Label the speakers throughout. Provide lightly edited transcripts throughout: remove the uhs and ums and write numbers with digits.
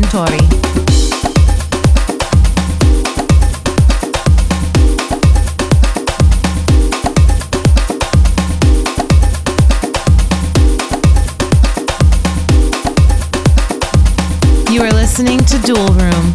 Speaker 1: Suntory. You are listening to Dual Room.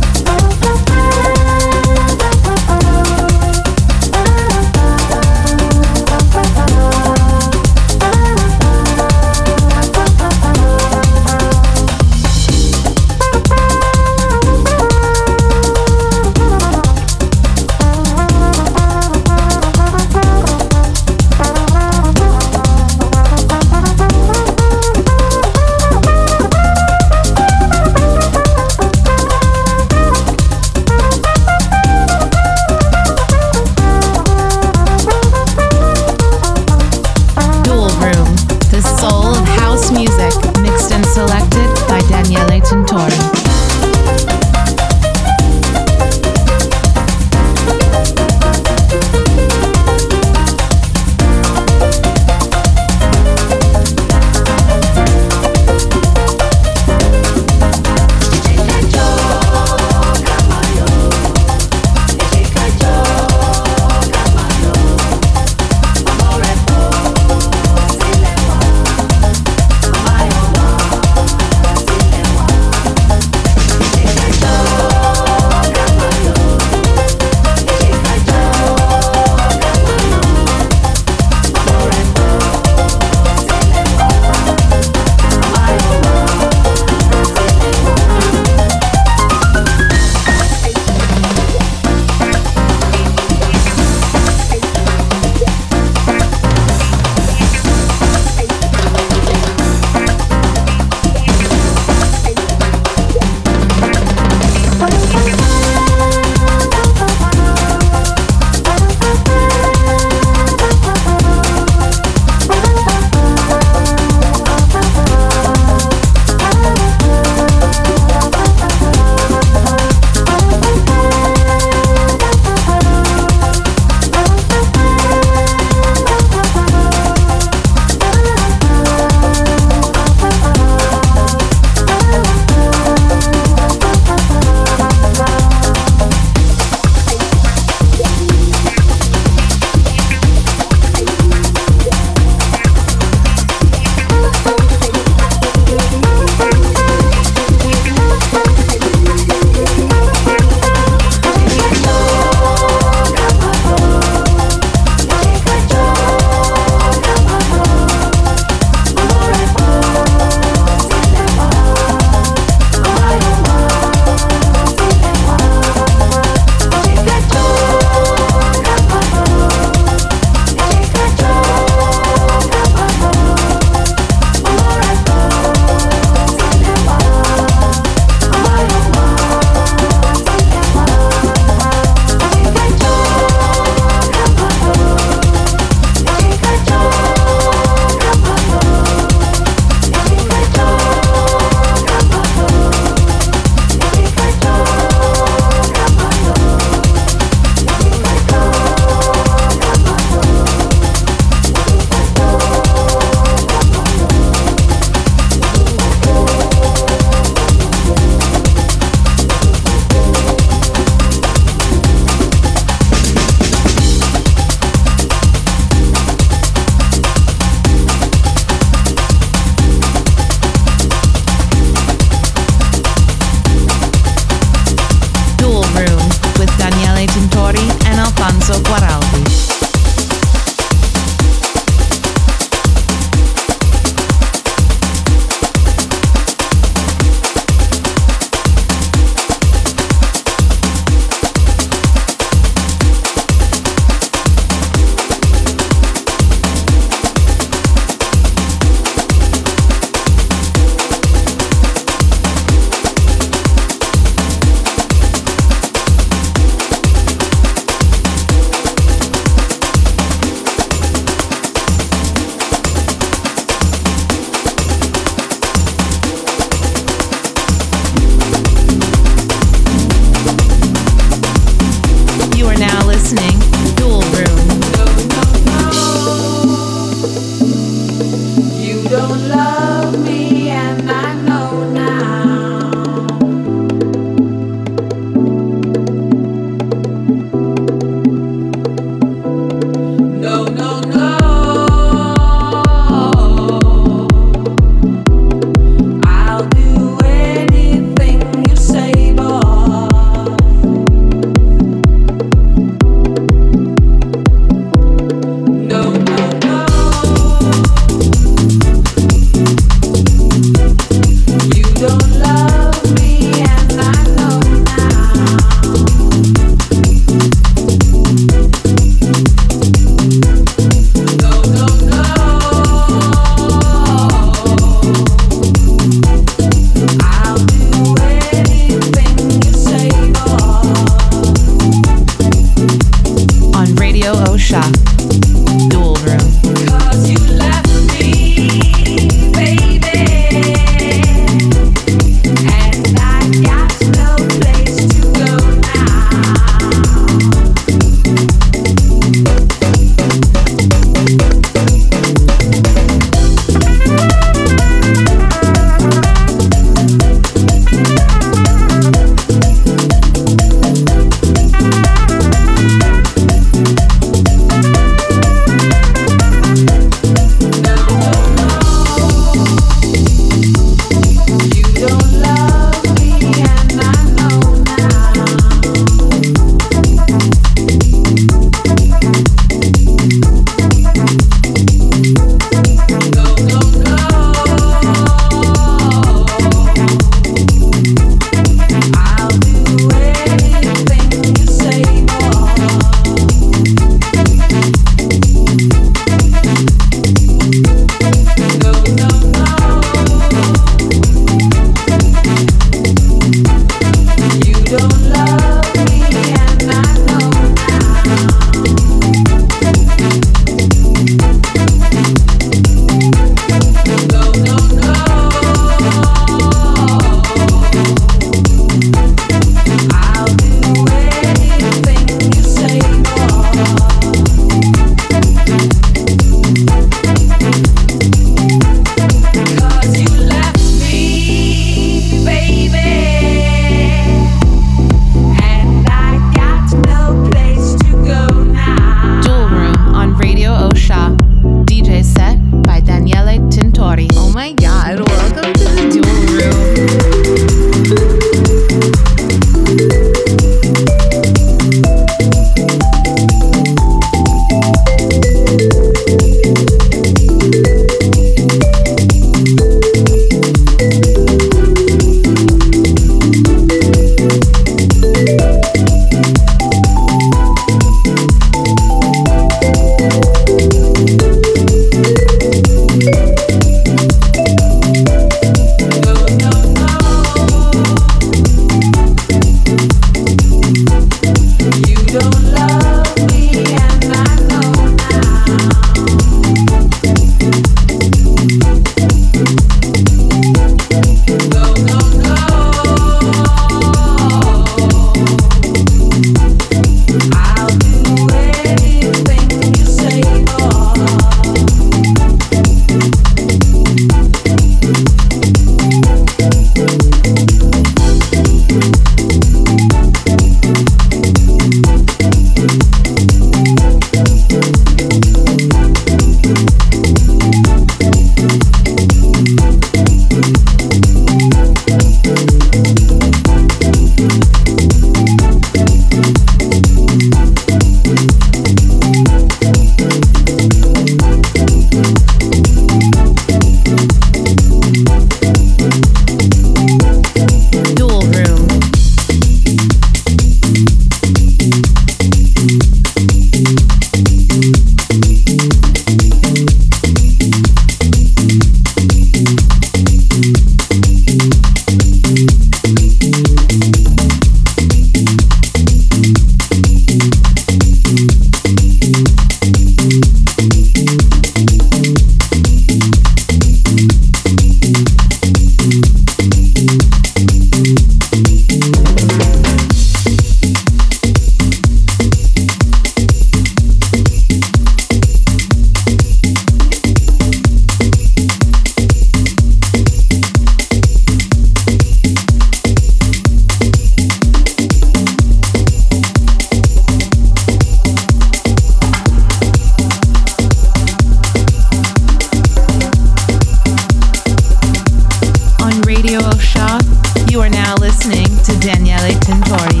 Speaker 1: to Daniele Tintori.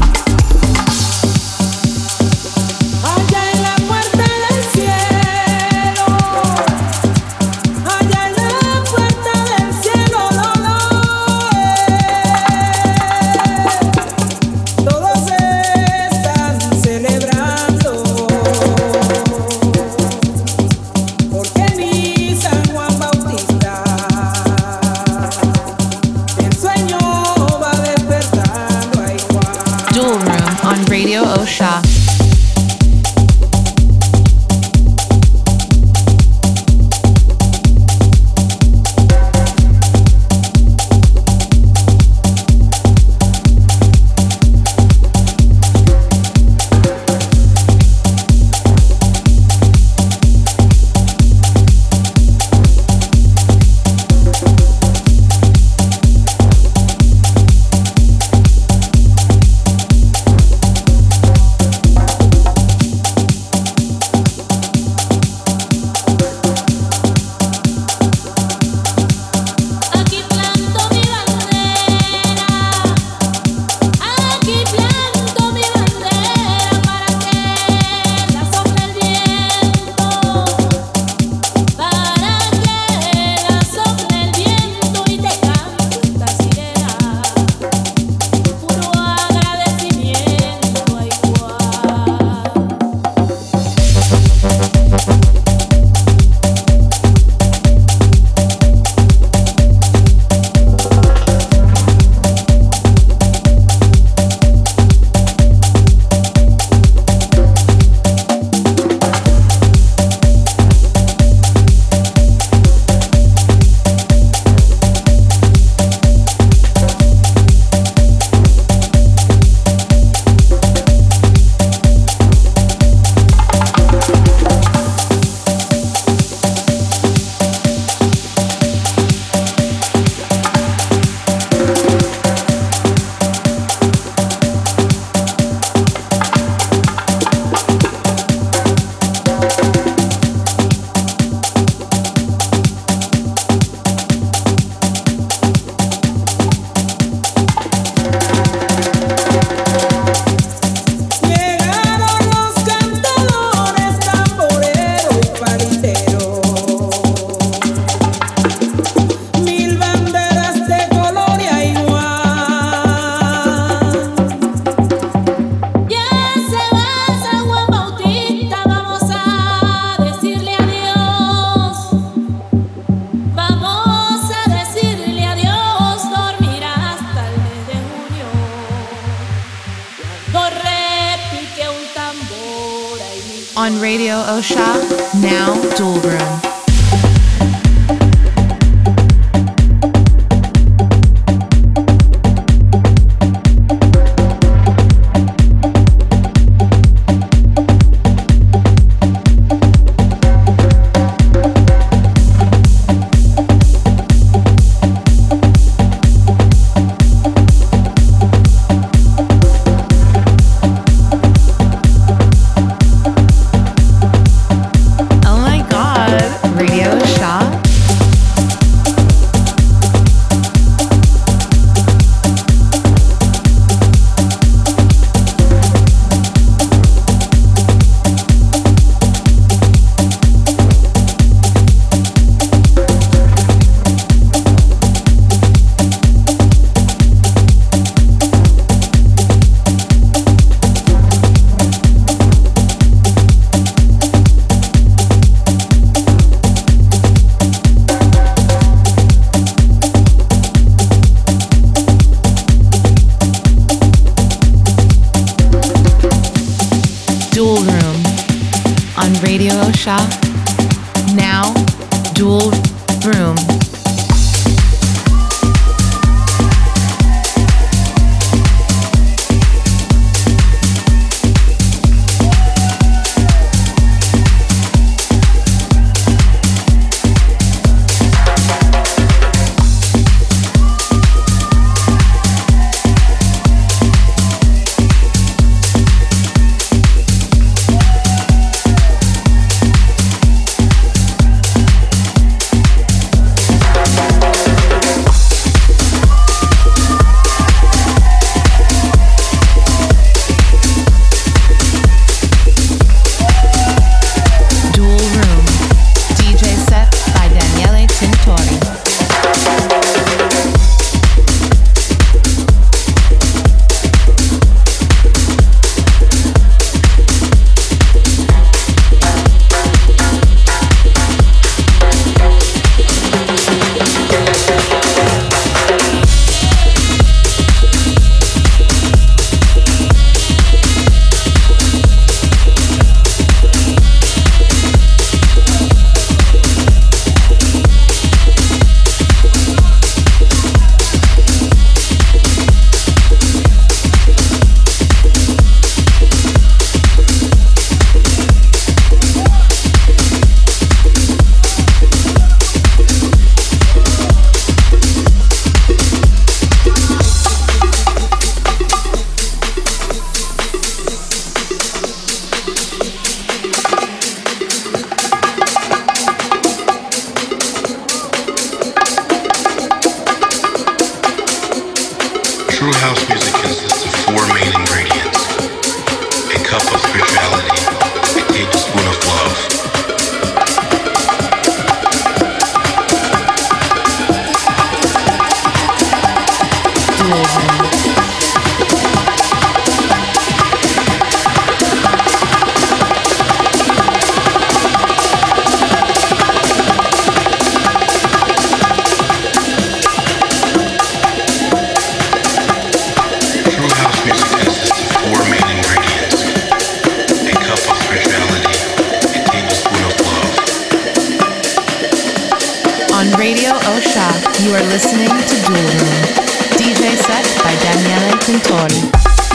Speaker 1: Radio Osha. On Radio Osha, now Dual Room. Dual Room on Radio Osha, now Dual Room. You are listening to Dual Room. DJ set by Daniele Tintori.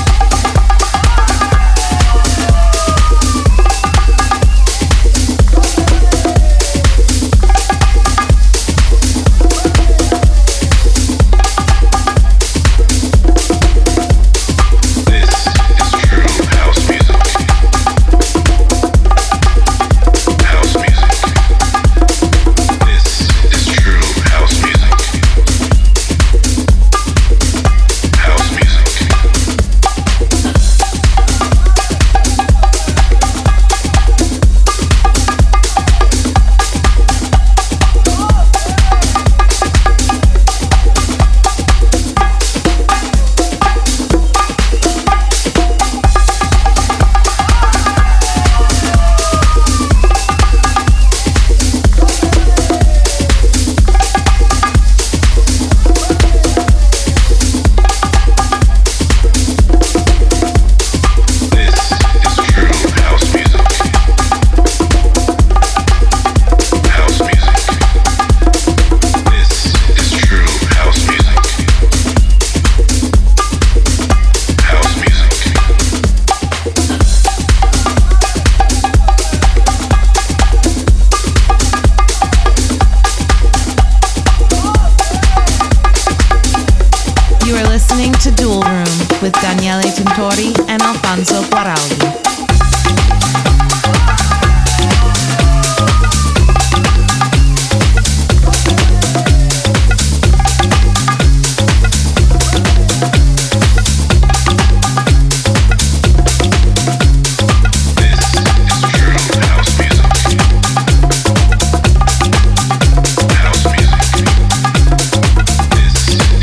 Speaker 1: With Daniele Tintori and Alfonso Guaraldi.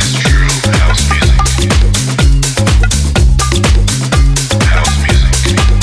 Speaker 2: House music.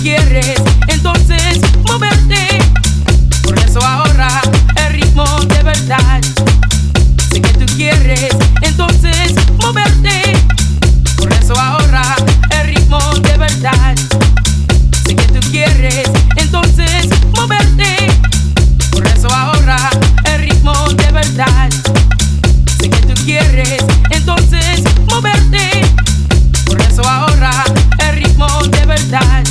Speaker 2: quieres entonces moverte. Por eso ahora el ritmo de verdad. Sé que tú quieres entonces moverte. Por eso ahora el ritmo de verdad. Sé que tú quieres entonces moverte. Por eso ahora el ritmo de verdad. Sé que tú quieres entonces moverte. Por eso ahora el ritmo de verdad.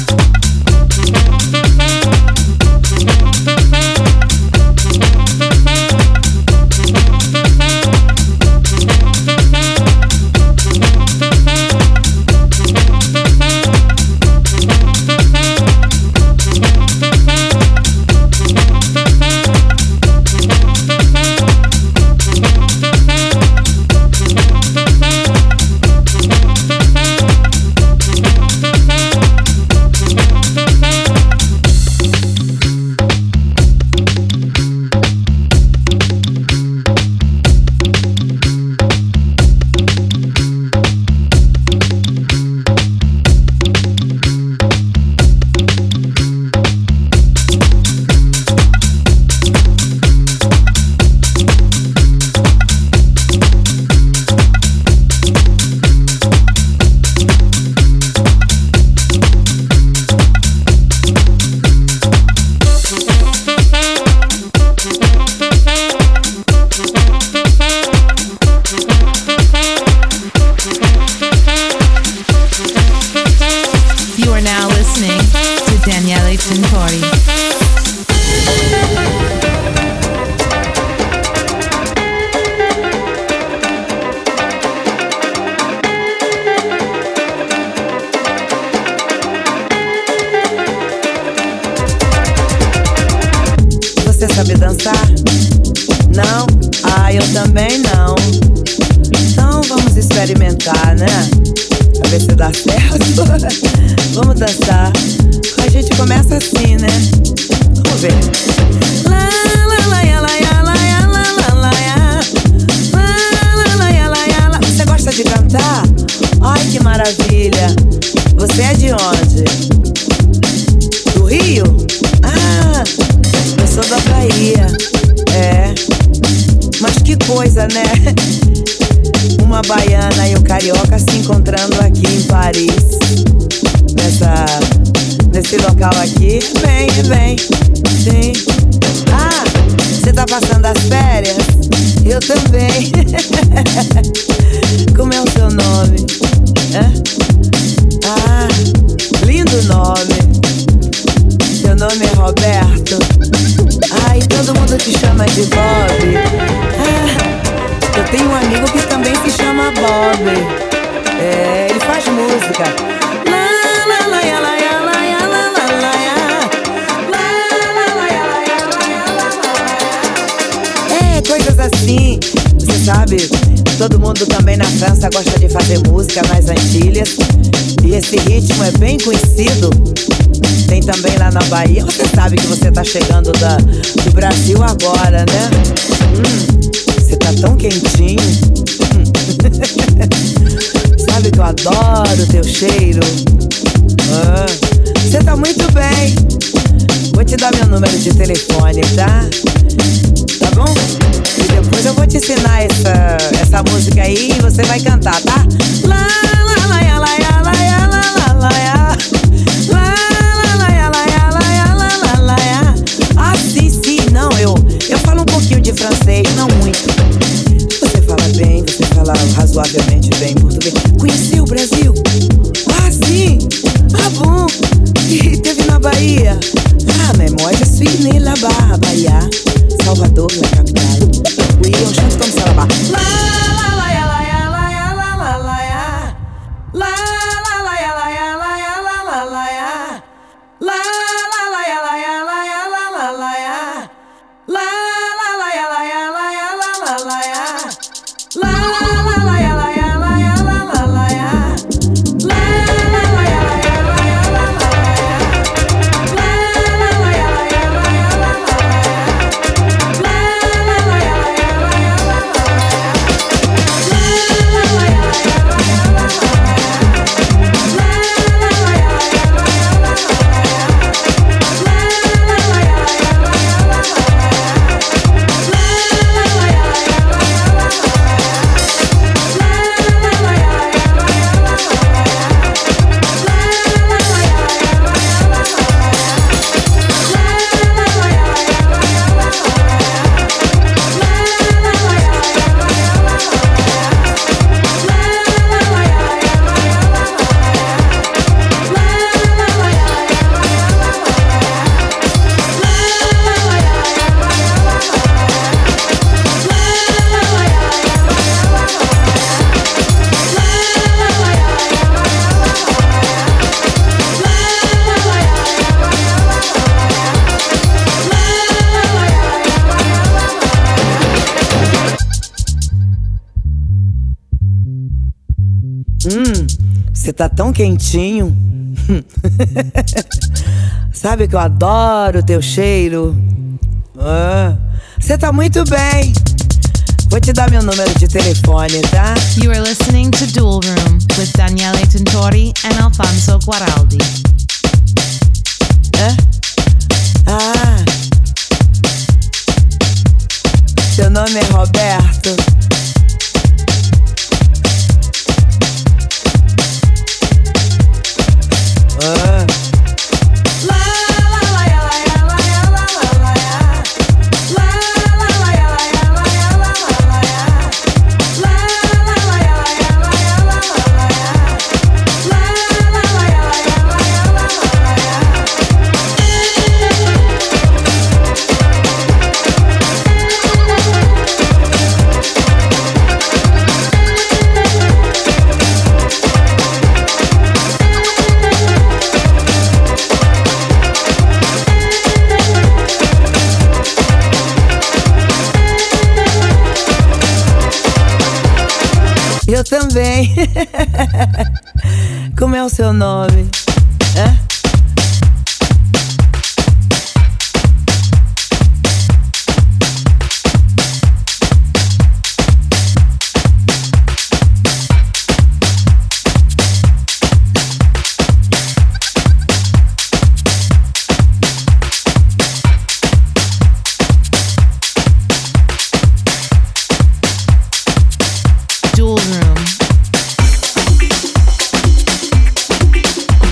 Speaker 3: Você sabe dançar? Não? Ah, eu também não. Então vamos experimentar, né? Pra ver se dá certo. Vamos dançar. A gente começa assim, né? Vamos ver. Lá, lá, lá, lá, lá, lá, lá, lá, lá, lá, lá, lá. Você gosta de cantar? Ai, que maravilha. Você é de onde? Do Rio? Ah, eu sou da Bahia. É. Mas que coisa, né? Uma baiana e um carioca se encontrando aqui em Paris. Nesse local aqui. Vem, sim. Ah, você tá passando as férias? Eu também. Como é o seu nome? Hã? Ah, lindo nome. Seu nome é Roberto. Ah, e todo mundo te chama de Bob. Ah, eu tenho um amigo que também se chama Bob. É, ele faz música. Lá, lá, lá, lá, lá, lá, lá, lá, lá, lá. Lá, lá, lá, lá, lá, lá, lá. É, coisas assim. Você sabe, todo mundo também na França gosta de fazer música nas Antilhas. E esse ritmo é bem conhecido. Tem também lá na Bahia. Você sabe que você tá chegando do Brasil agora, né? Você tá tão quentinho. Sabe que eu adoro teu cheiro. Você tá muito bem. Vou te dar meu número de telefone, tá? Tá bom? E depois eu vou te ensinar essa música aí e você vai cantar, tá? Lá, lá, lá, lá, lá, lá, lá, lá, lá, lá. Ah, sim, não, eu falo um pouquinho de francês, não muito. Você fala bem, você fala razoavelmente bem português. Conheceu o Brasil? Ah, sim, ah, bom. E teve na Bahia? Ah, mais moi, je suis né là-bas, Bahia, Salvador, la capitale. Oui, on chante comme ça là-bas. La, la, la, la, la, la, la, la, la, la. La, la, la, la, la, la, la, la, la, la. La, la, la, la, la, la, la, la, la, la. La, la, la, la, la, la, la, la, la, la. La, la, la, la, la, la, la, la, la, la. La, la, la, la, la, la, la, la, la, la. Você tá tão quentinho. Sabe que eu adoro o teu cheiro. Você tá muito bem. Vou te dar meu número de telefone, tá?
Speaker 1: You are listening to Dual Room with Daniele Tintori and Alfonso Guaraldi.
Speaker 3: Seu nome é Roberto. Eu também. Como é o seu nome?
Speaker 1: Dual Room.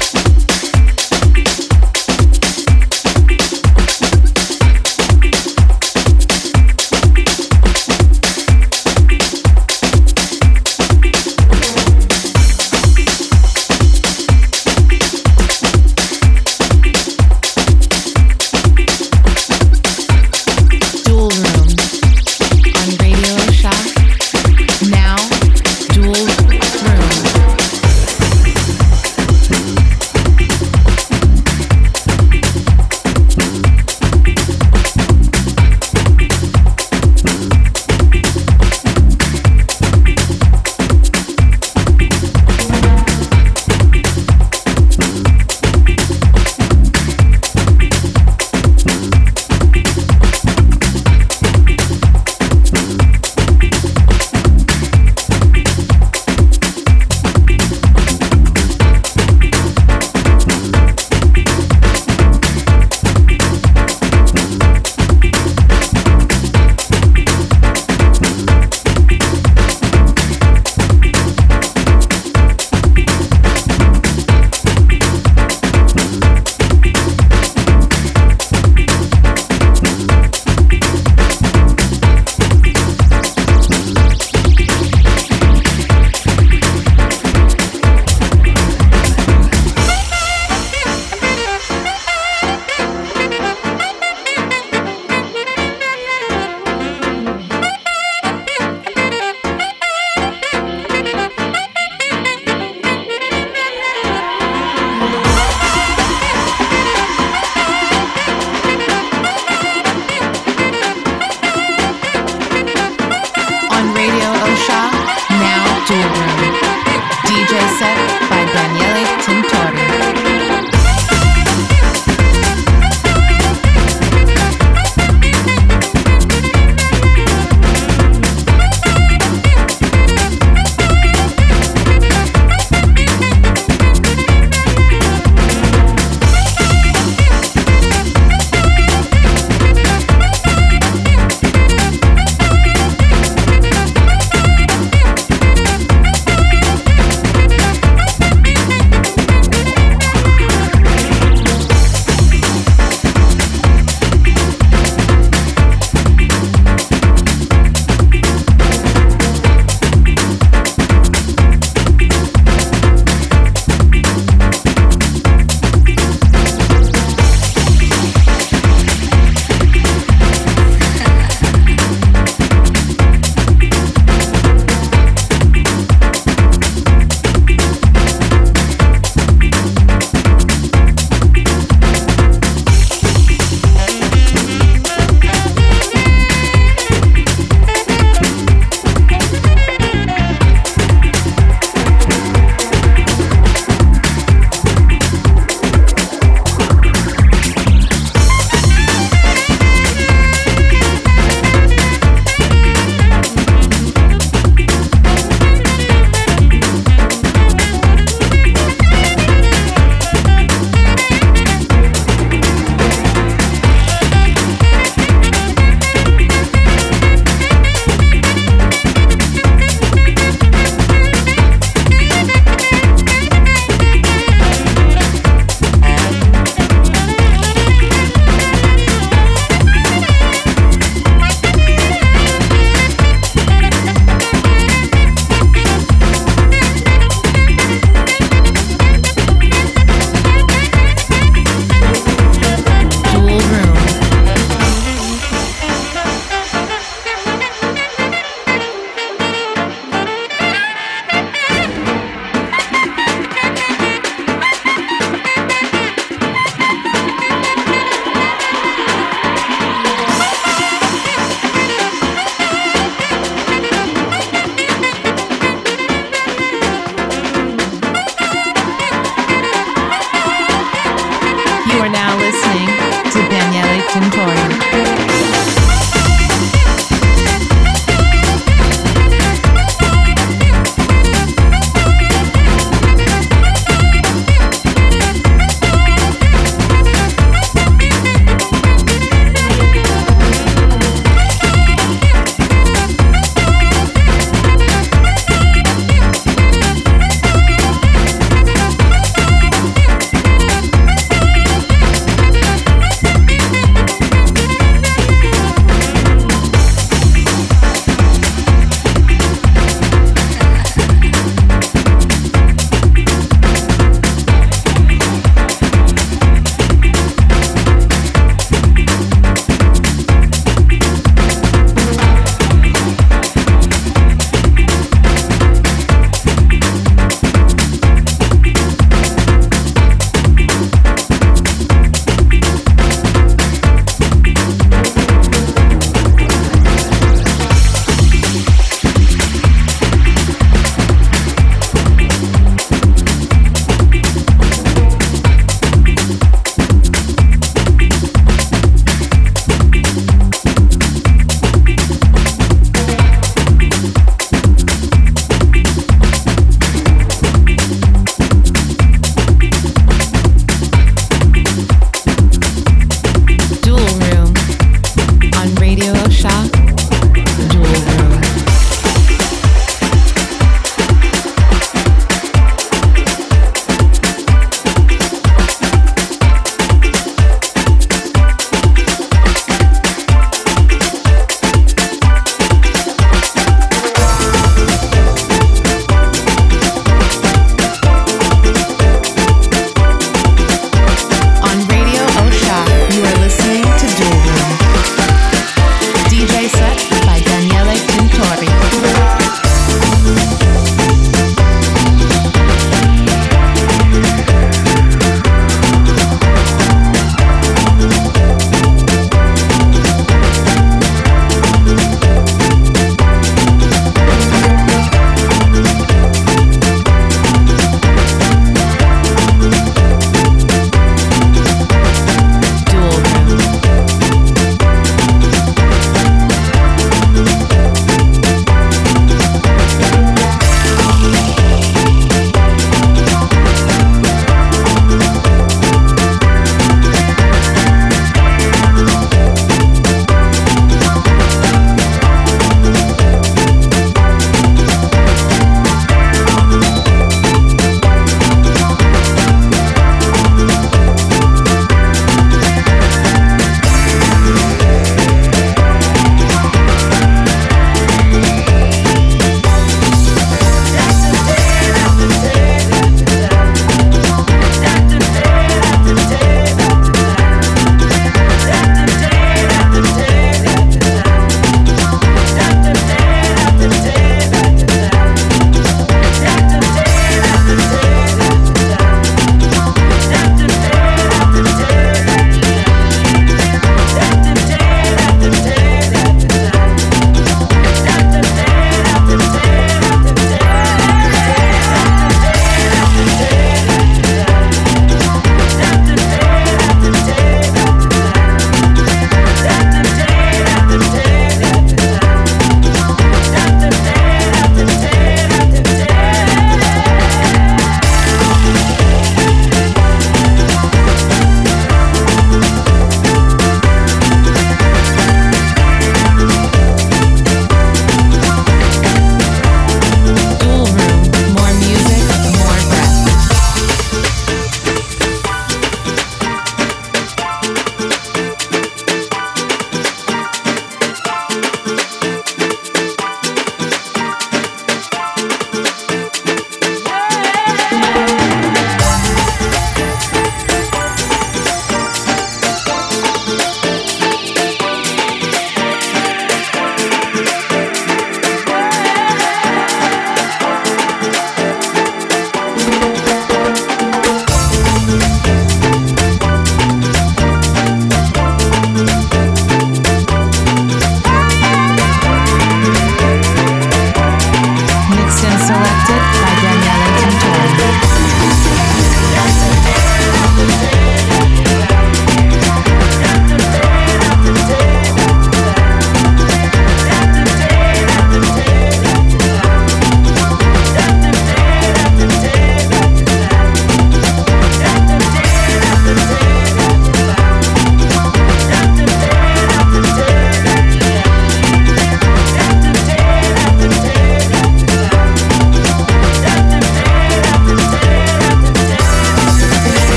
Speaker 1: now listening to Daniele Tintori.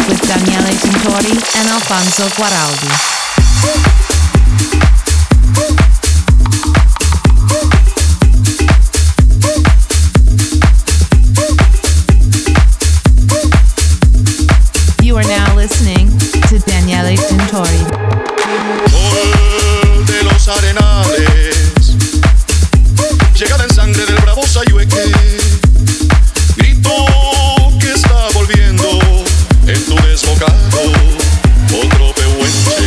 Speaker 1: with Daniele Tintori and Alfonso Guaraldi. You are now listening to Daniele Tintori.
Speaker 4: Sol de los arenales, llegada en sangre del bravo Sayhueque, grito que está volviendo en tu desbocado, otro pehuenche.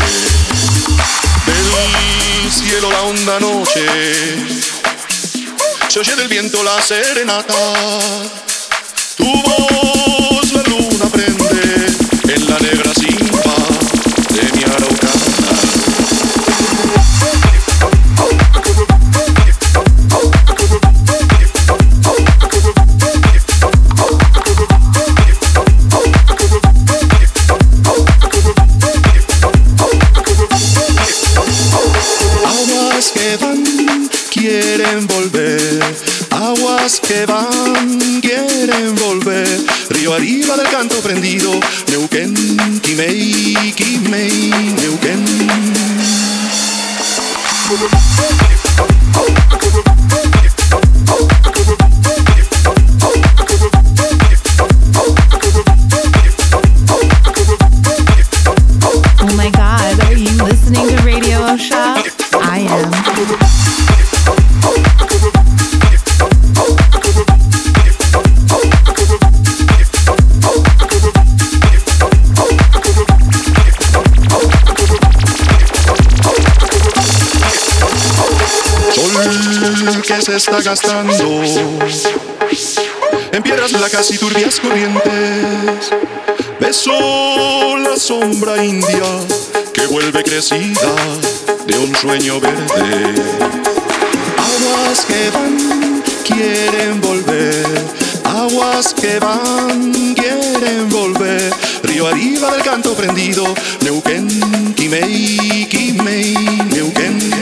Speaker 4: Del cielo la honda noche, se oye del viento la serenata, tu voz la luna prende en la negra simba de mi araucana. Aguas que van, quieren volver. Aguas que van, quieren volver. Río arriba del canto prendido, Neuquén, Quimei, Quimei, Neuquén.
Speaker 1: Oh my God, are you listening to Radio Osha? I am.
Speaker 4: Sol que se está gastando en piedras blancas y turbias corrientes. Beso la sombra india que vuelve crecida de un sueño verde. Aguas que van, quieren volver. Aguas que van, quieren volver. Río arriba del canto prendido, Neuquén, Quimei, Quimei, Neuquén.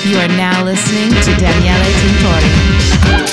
Speaker 1: You are now listening to Daniele Tintori.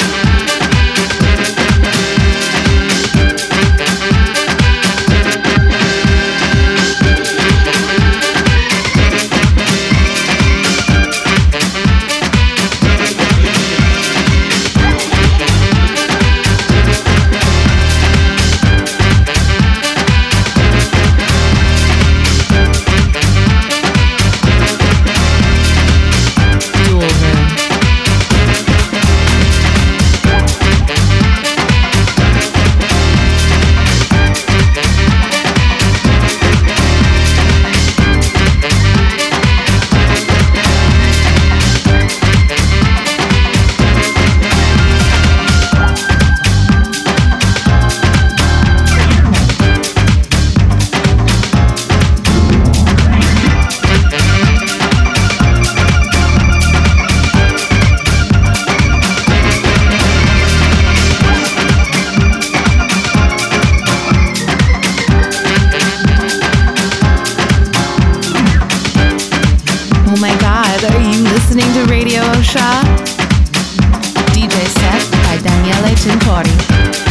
Speaker 1: Listening to Radio Osha, DJ set by Daniele Tintori.